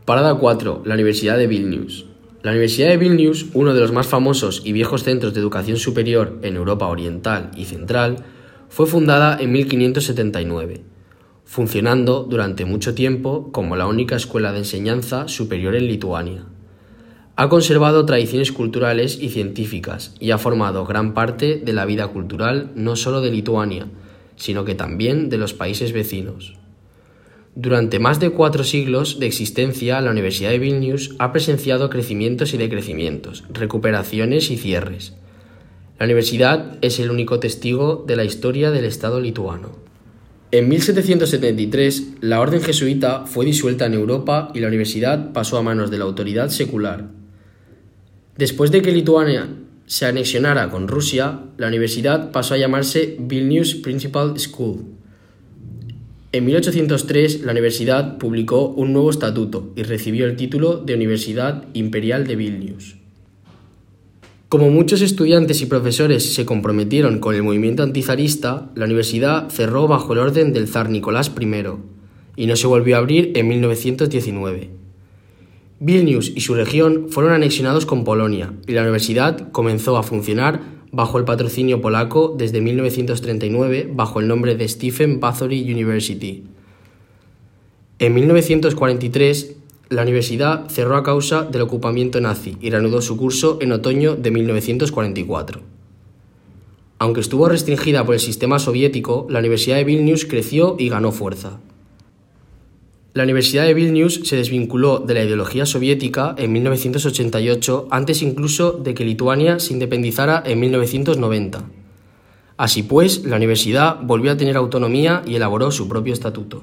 Parada 4. La Universidad de Vilnius. La Universidad de Vilnius, uno de los más famosos y viejos centros de educación superior en Europa Oriental y Central, fue fundada en 1579, funcionando durante mucho tiempo como la única escuela de enseñanza superior en Lituania. Ha conservado tradiciones culturales y científicas y ha formado gran parte de la vida cultural no solo de Lituania, sino que también de los países vecinos. Durante más de 4 siglos de existencia, la Universidad de Vilnius ha presenciado crecimientos y decrecimientos, recuperaciones y cierres. La universidad es el único testigo de la historia del Estado lituano. En 1773, la orden jesuita fue disuelta en Europa y la universidad pasó a manos de la autoridad secular. Después de que Lituania se anexionara con Rusia, la universidad pasó a llamarse Vilnius Principal School. En 1803, la universidad publicó un nuevo estatuto y recibió el título de Universidad Imperial de Vilnius. Como muchos estudiantes y profesores se comprometieron con el movimiento antizarista, la universidad cerró bajo el orden del zar Nicolás I y no se volvió a abrir en 1919. Vilnius y su región fueron anexionados con Polonia y la universidad comenzó a funcionar bajo el patrocinio polaco desde 1939 bajo el nombre de Stephen Bathory University. En 1943, la universidad cerró a causa del ocupamiento nazi y reanudó su curso en otoño de 1944. Aunque estuvo restringida por el sistema soviético, la Universidad de Vilnius creció y ganó fuerza. La Universidad de Vilnius se desvinculó de la ideología soviética en 1988, antes incluso de que Lituania se independizara en 1990. Así pues, la universidad volvió a tener autonomía y elaboró su propio estatuto.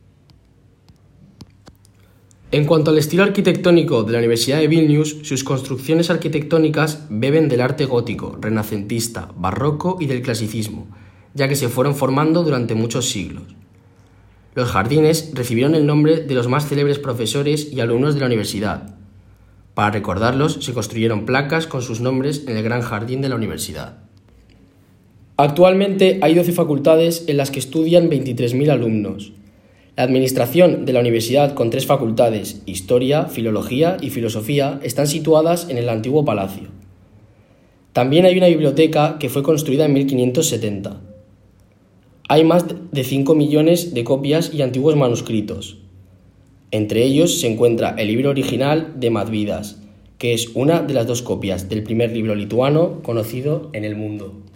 En cuanto al estilo arquitectónico de la Universidad de Vilnius, sus construcciones arquitectónicas beben del arte gótico, renacentista, barroco y del clasicismo, ya que se fueron formando durante muchos siglos. Los jardines recibieron el nombre de los más célebres profesores y alumnos de la universidad. Para recordarlos, se construyeron placas con sus nombres en el gran jardín de la universidad. Actualmente hay 12 facultades en las que estudian 23.000 alumnos. La administración de la universidad, con 3 facultades, Historia, Filología y Filosofía, están situadas en el antiguo palacio. También hay una biblioteca que fue construida en 1570. Hay más de 5 millones de copias y antiguos manuscritos. Entre ellos se encuentra el libro original de Mažvydas, que es una de las 2 copias del primer libro lituano conocido en el mundo.